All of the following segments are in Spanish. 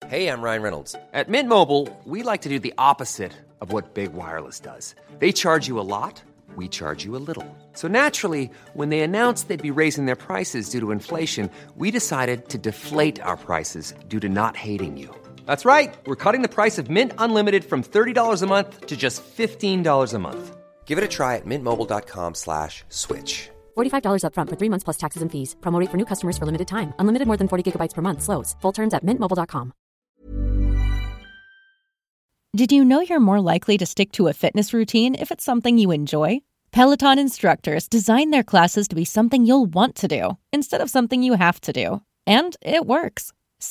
Hey, I'm Ryan Reynolds. At Mint Mobile, we like to do the opposite of what Big Wireless does. They charge you a lot, we charge you a little. So naturally, when they announced they'd be raising their prices due to inflation, we decided to deflate our prices due to not hating you. That's right. We're cutting the price of Mint Unlimited from $30 a month to just $15 a month. Give it a try at mintmobile.com/switch. $45 up front for 3 months plus taxes and fees. Promo rate for new customers for limited time. Unlimited more than 40 gigabytes per month. Slows full terms at mintmobile.com. Did you know you're more likely to stick to a fitness routine if it's something you enjoy? Peloton instructors design their classes to be something you'll want to do instead of something you have to do. And it works.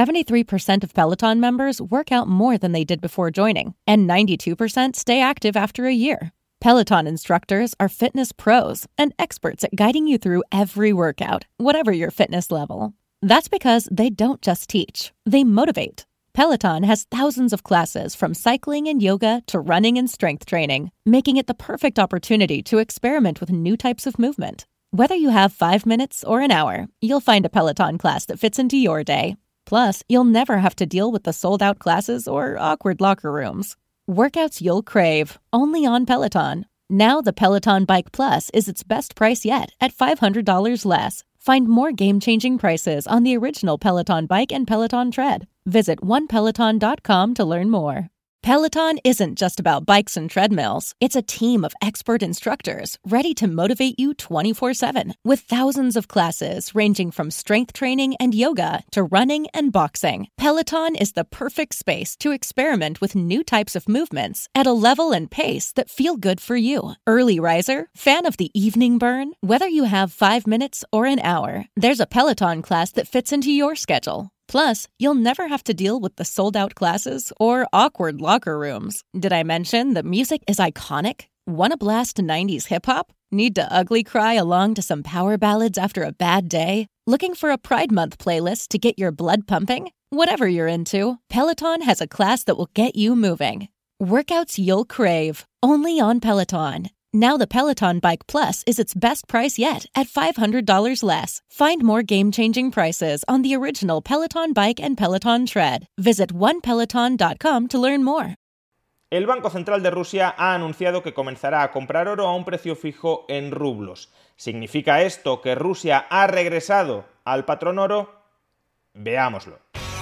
73% of Peloton members work out more than they did before joining, and 92% stay active after a year. Peloton instructors are fitness pros and experts at guiding you through every workout, whatever your fitness level. That's because they don't just teach, they motivate. Peloton has thousands of classes from cycling and yoga to running and strength training, making it the perfect opportunity to experiment with new types of movement. Whether you have 5 minutes or an hour, you'll find a Peloton class that fits into your day. Plus, you'll never have to deal with the sold-out classes or awkward locker rooms. Workouts you'll crave, only on Peloton. Now the Peloton Bike Plus is its best price yet at $500 less. Find more game-changing prices on the original Peloton Bike and Peloton Tread. Visit onepeloton.com to learn more. Peloton isn't just about bikes and treadmills. It's a team of expert instructors ready to motivate you 24/7 with thousands of classes ranging from strength training and yoga to running and boxing. Peloton is the perfect space to experiment with new types of movements at a level and pace that feel good for you. Early riser? Fan of the evening burn? Whether you have 5 minutes or an hour, there's a Peloton class that fits into your schedule. Plus, you'll never have to deal with the sold-out classes or awkward locker rooms. Did I mention that music is iconic? Wanna blast 90s hip-hop? Need to ugly cry along to some power ballads after a bad day? Looking for a Pride Month playlist to get your blood pumping? Whatever you're into, Peloton has a class that will get you moving. Workouts you'll crave, only on Peloton. Now the Peloton Bike Plus is its best price yet at $500 less. Find more game-changing prices on the original Peloton Bike and Peloton Tread. Visit onepeloton.com to learn more. El Banco Central de Rusia ha anunciado que comenzará a comprar oro a un precio fijo en rublos. ¿Significa esto que Rusia ha regresado al patrón oro? Veámoslo.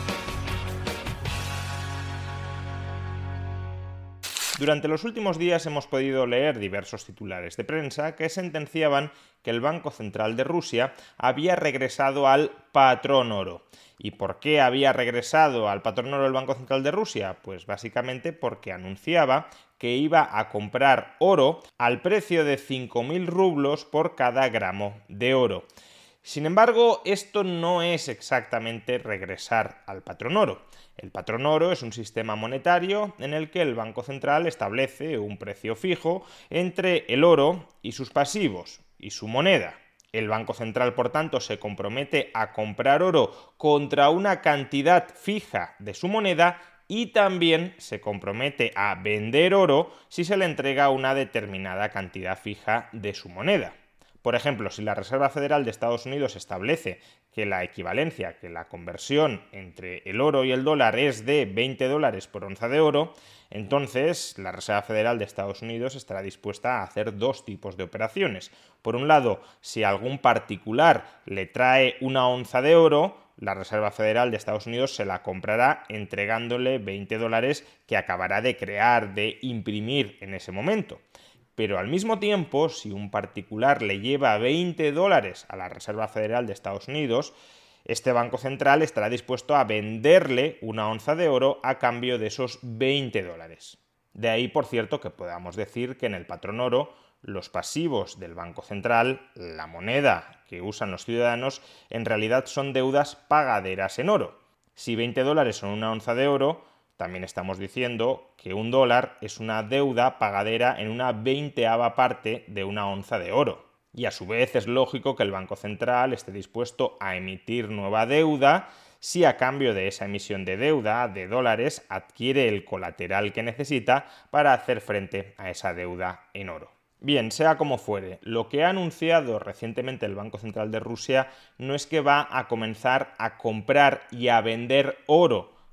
Durante los últimos días hemos podido leer diversos titulares de prensa que sentenciaban que el Banco Central de Rusia había regresado al patrón oro. ¿Y por qué había regresado al patrón oro el Banco Central de Rusia? Pues básicamente porque anunciaba que iba a comprar oro al precio de 5.000 rublos por cada gramo de oro. Sin embargo, esto no es exactamente regresar al patrón oro. El patrón oro es un sistema monetario en el que el Banco Central establece un precio fijo entre el oro y sus pasivos y su moneda. El Banco Central, por tanto, se compromete a comprar oro contra una cantidad fija de su moneda y también se compromete a vender oro si se le entrega una determinada cantidad fija de su moneda. Por ejemplo, si la Reserva Federal de Estados Unidos establece que la equivalencia, que la conversión entre el oro y el dólar es de $20 por onza de oro, entonces la Reserva Federal de Estados Unidos estará dispuesta a hacer dos tipos de operaciones. Por un lado, si algún particular le trae una onza de oro, la Reserva Federal de Estados Unidos se la comprará entregándole $20 que acabará de crear, de imprimir en ese momento. Pero al mismo tiempo, si un particular le lleva $20 a la Reserva Federal de Estados Unidos, este Banco Central estará dispuesto a venderle una onza de oro a cambio de esos $20. De ahí, por cierto, que podamos decir que en el patrón oro, los pasivos del Banco Central, la moneda que usan los ciudadanos, en realidad son deudas pagaderas en oro. Si $20 son una onza de oro, también estamos diciendo que un dólar es una deuda pagadera en una 20ª parte de una onza de oro. Y a su vez es lógico que el Banco Central esté dispuesto a emitir nueva deuda si a cambio de esa emisión de deuda de dólares adquiere el colateral que necesita para hacer frente a esa deuda en oro. Bien, sea como fuere, lo que ha anunciado recientemente el Banco Central de Rusia no es que va a comenzar a comprar y a vender oro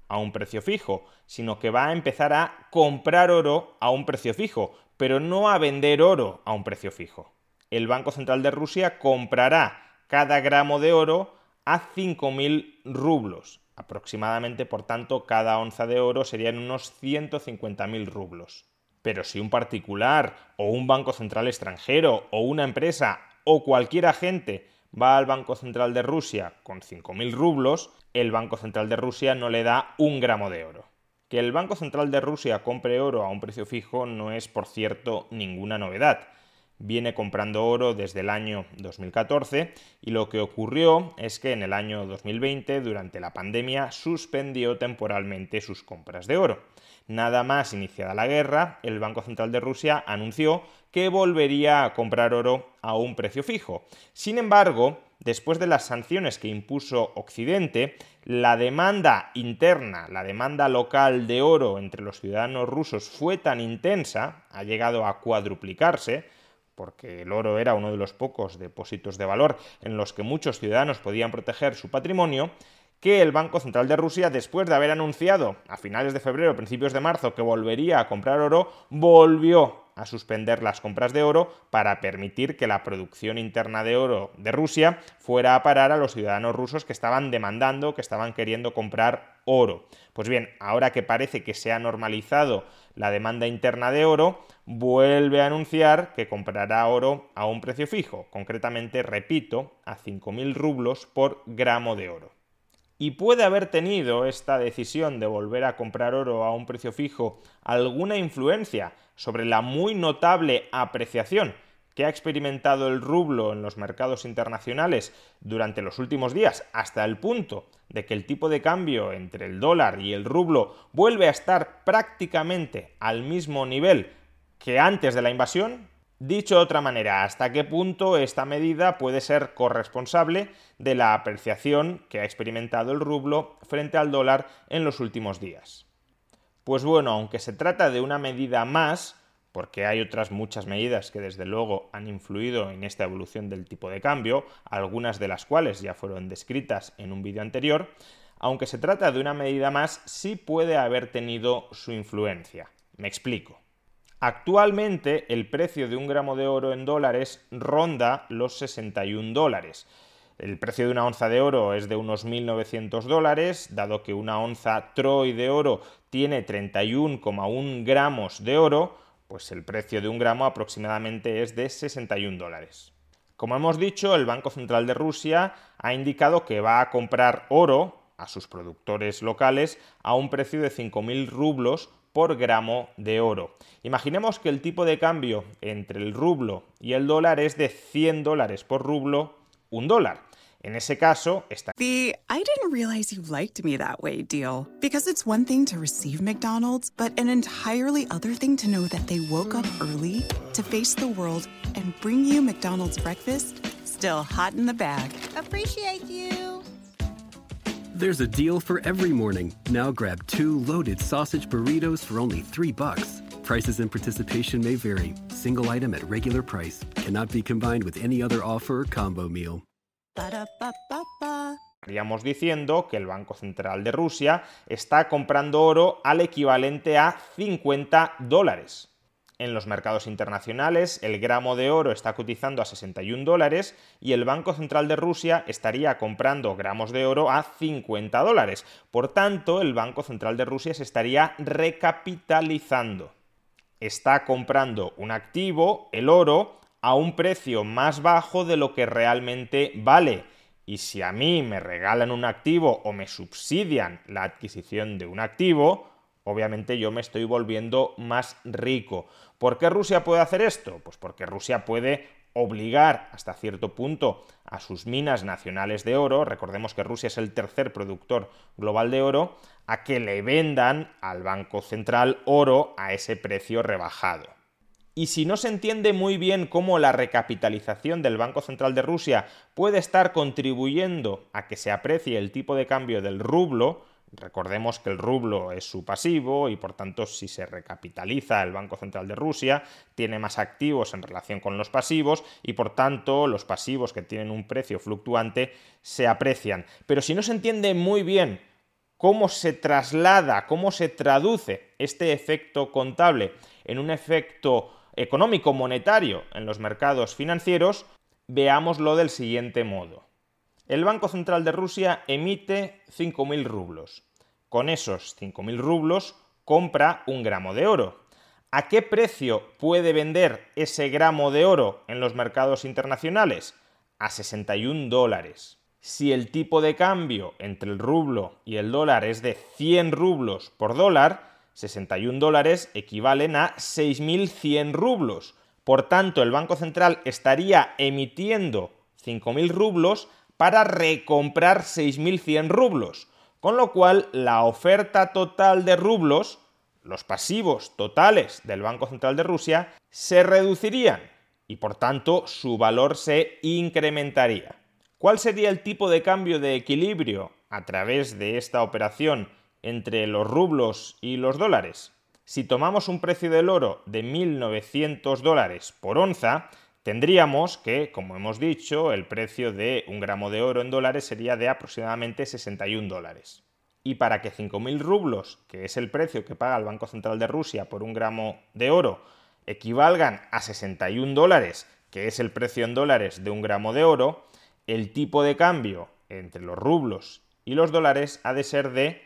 a un precio fijo, sino que va a empezar a comprar oro a un precio fijo, pero no a vender oro a un precio fijo. El Banco Central de Rusia comprará cada gramo de oro a 5.000 rublos. Aproximadamente, por tanto, cada onza de oro serían unos 150.000 rublos. Pero si un particular o un banco central extranjero o una empresa o cualquier agente va al Banco Central de Rusia con 5.000 rublos, el Banco Central de Rusia no le da un gramo de oro. Que el Banco Central de Rusia compre oro a un precio fijo no es, por cierto, ninguna novedad. Viene comprando oro desde el año 2014 y lo que ocurrió es que en el año 2020, durante la pandemia, suspendió temporalmente sus compras de oro. Nada más iniciada la guerra, el Banco Central de Rusia anunció que volvería a comprar oro a un precio fijo. Sin embargo, después de las sanciones que impuso Occidente, la demanda interna, la demanda local de oro entre los ciudadanos rusos fue tan intensa, ha llegado a cuadruplicarse, porque el oro era uno de los pocos depósitos de valor en los que muchos ciudadanos podían proteger su patrimonio, que el Banco Central de Rusia, después de haber anunciado a finales de febrero, principios de marzo, que volvería a comprar oro, volvió a suspender las compras de oro para permitir que la producción interna de oro de Rusia fuera a parar a los ciudadanos rusos que estaban demandando, que estaban queriendo comprar oro. Pues bien, ahora que parece que se ha normalizado la demanda interna de oro, vuelve a anunciar que comprará oro a un precio fijo, concretamente, repito, a 5.000 rublos por gramo de oro. Y puede haber tenido esta decisión de volver a comprar oro a un precio fijo alguna influencia sobre la muy notable apreciación que ha experimentado el rublo en los mercados internacionales durante los últimos días, hasta el punto de que el tipo de cambio entre el dólar y el rublo vuelve a estar prácticamente al mismo nivel que antes de la invasión. Dicho de otra manera, ¿hasta qué punto esta medida puede ser corresponsable de la apreciación que ha experimentado el rublo frente al dólar en los últimos días? Pues bueno, aunque se trata de una medida más, porque hay otras muchas medidas que desde luego han influido en esta evolución del tipo de cambio, algunas de las cuales ya fueron descritas en un vídeo anterior, aunque se trata de una medida más, sí puede haber tenido su influencia. Me explico. Actualmente el precio de un gramo de oro en dólares ronda los 61 dólares. El precio de una onza de oro es de unos 1.900 dólares, dado que una onza Troy de oro tiene 31,1 gramos de oro, pues el precio de un gramo aproximadamente es de 61 dólares. Como hemos dicho, el Banco Central de Rusia ha indicado que va a comprar oro a sus productores locales a un precio de 5.000 rublos por gramo de oro. Imaginemos que el tipo de cambio entre el rublo y el dólar es de 100 dólares por rublo, $1. En ese caso, The I didn't realize you liked me that way deal. Because it's one thing to receive McDonald's, but an entirely other thing to know that they woke up early to face the world and bring you McDonald's breakfast still hot in the bag. Appreciate you. There's a deal for every morning. Now grab 2 loaded sausage burritos for only $3. Prices and participation may vary. Single item at regular price. Cannot be combined with any other offer or combo meal. Estaríamos diciendo que el Banco Central de Rusia está comprando oro al equivalente a 50 dólares. En los mercados internacionales, el gramo de oro está cotizando a 61 dólares y el Banco Central de Rusia estaría comprando gramos de oro a 50 dólares. Por tanto, el Banco Central de Rusia se estaría recapitalizando. Está comprando un activo, el oro, a un precio más bajo de lo que realmente vale. Y si a mí me regalan un activo o me subsidian la adquisición de un activo, obviamente yo me estoy volviendo más rico. ¿Por qué Rusia puede hacer esto? Pues porque Rusia puede obligar hasta cierto punto a sus minas nacionales de oro, recordemos que Rusia es el tercer productor global de oro, a que le vendan al Banco Central oro a ese precio rebajado. Y si no se entiende muy bien cómo la recapitalización del Banco Central de Rusia puede estar contribuyendo a que se aprecie el tipo de cambio del rublo, recordemos que el rublo es su pasivo y por tanto si se recapitaliza el Banco Central de Rusia tiene más activos en relación con los pasivos y por tanto los pasivos que tienen un precio fluctuante se aprecian. Pero si no se entiende muy bien ¿Cómo se traslada, cómo se traduce este efecto contable en un efecto económico monetario en los mercados financieros? Veámoslo del siguiente modo. El Banco Central de Rusia emite 5.000 rublos. Con esos 5.000 rublos compra un gramo de oro. ¿A qué precio puede vender ese gramo de oro en los mercados internacionales? A $61. Si el tipo de cambio entre el rublo y el dólar es de 100 rublos por dólar, $61 equivalen a 6.100 rublos. Por tanto, el Banco Central estaría emitiendo 5.000 rublos para recomprar 6.100 rublos, con lo cual la oferta total de rublos, los pasivos totales del Banco Central de Rusia, se reducirían y por tanto su valor se incrementaría. ¿Cuál sería el tipo de cambio de equilibrio a través de esta operación entre los rublos y los dólares? Si tomamos un precio del oro de $1.900 por onza, tendríamos que, como hemos dicho, el precio de un gramo de oro en dólares sería de aproximadamente $61. Y para que 5.000 rublos, que es el precio que paga el Banco Central de Rusia por un gramo de oro, equivalgan a $61, que es el precio en dólares de un gramo de oro, el tipo de cambio entre los rublos y los dólares ha de ser de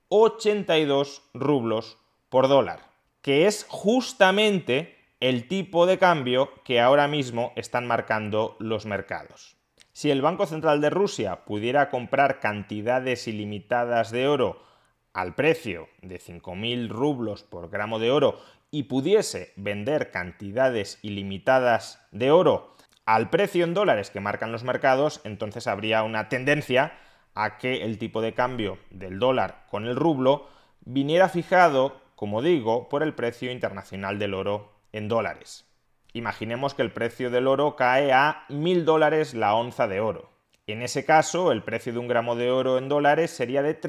82 rublos por dólar, que es justamente el tipo de cambio que ahora mismo están marcando los mercados. Si el Banco Central de Rusia pudiera comprar cantidades ilimitadas de oro al precio de 5.000 rublos por gramo de oro y pudiese vender cantidades ilimitadas de oro al precio en dólares que marcan los mercados, entonces habría una tendencia a que el tipo de cambio del dólar con el rublo viniera fijado, como digo, por el precio internacional del oro en dólares. Imaginemos que el precio del oro cae a $1.000 la onza de oro. En ese caso, el precio de un gramo de oro en dólares sería de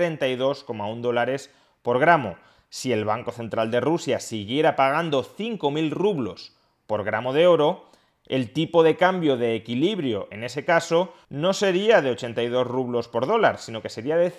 $32,1 por gramo. Si el Banco Central de Rusia siguiera pagando 5.000 rublos por gramo de oro, el tipo de cambio de equilibrio en ese caso no sería de 82 rublos por dólar, sino que sería de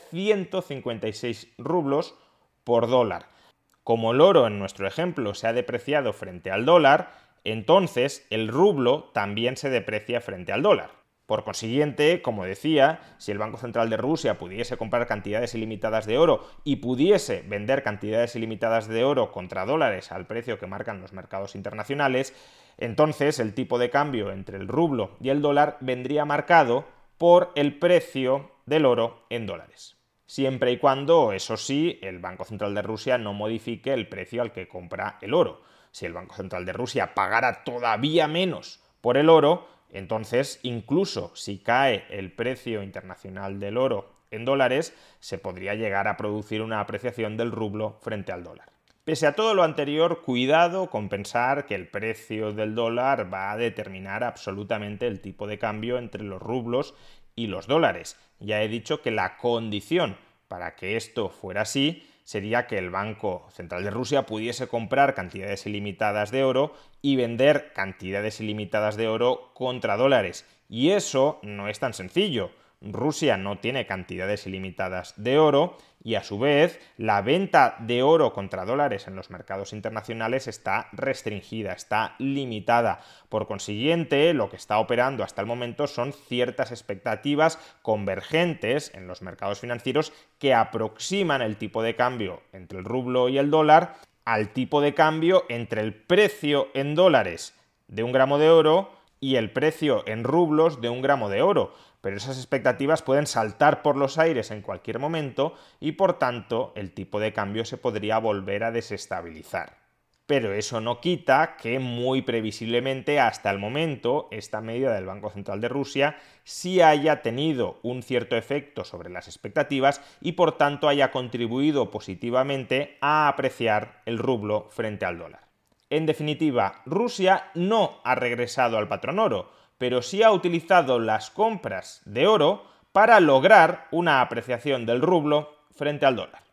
156 rublos por dólar. Como el oro en nuestro ejemplo se ha depreciado frente al dólar, entonces el rublo también se deprecia frente al dólar. Por consiguiente, como decía, si el Banco Central de Rusia pudiese comprar cantidades ilimitadas de oro y pudiese vender cantidades ilimitadas de oro contra dólares al precio que marcan los mercados internacionales, entonces el tipo de cambio entre el rublo y el dólar vendría marcado por el precio del oro en dólares. Siempre y cuando, eso sí, el Banco Central de Rusia no modifique el precio al que compra el oro. Si el Banco Central de Rusia pagara todavía menos por el oro, entonces incluso si cae el precio internacional del oro en dólares, se podría llegar a producir una apreciación del rublo frente al dólar. Pese a todo lo anterior, cuidado con pensar que el precio del dólar va a determinar absolutamente el tipo de cambio entre los rublos y los dólares. Ya he dicho que la condición para que esto fuera así sería que el Banco Central de Rusia pudiese comprar cantidades ilimitadas de oro y vender cantidades ilimitadas de oro contra dólares. Y eso no es tan sencillo. Rusia no tiene cantidades ilimitadas de oro y a su vez la venta de oro contra dólares en los mercados internacionales está restringida, está limitada. Por consiguiente, lo que está operando hasta el momento son ciertas expectativas convergentes en los mercados financieros que aproximan el tipo de cambio entre el rublo y el dólar al tipo de cambio entre el precio en dólares de un gramo de oro y el precio en rublos de un gramo de oro. Pero esas expectativas pueden saltar por los aires en cualquier momento y por tanto el tipo de cambio se podría volver a desestabilizar. Pero eso no quita que muy previsiblemente hasta el momento esta medida del Banco Central de Rusia sí haya tenido un cierto efecto sobre las expectativas y por tanto haya contribuido positivamente a apreciar el rublo frente al dólar. En definitiva, Rusia no ha regresado al patrón oro, pero sí ha utilizado las compras de oro para lograr una apreciación del rublo frente al dólar.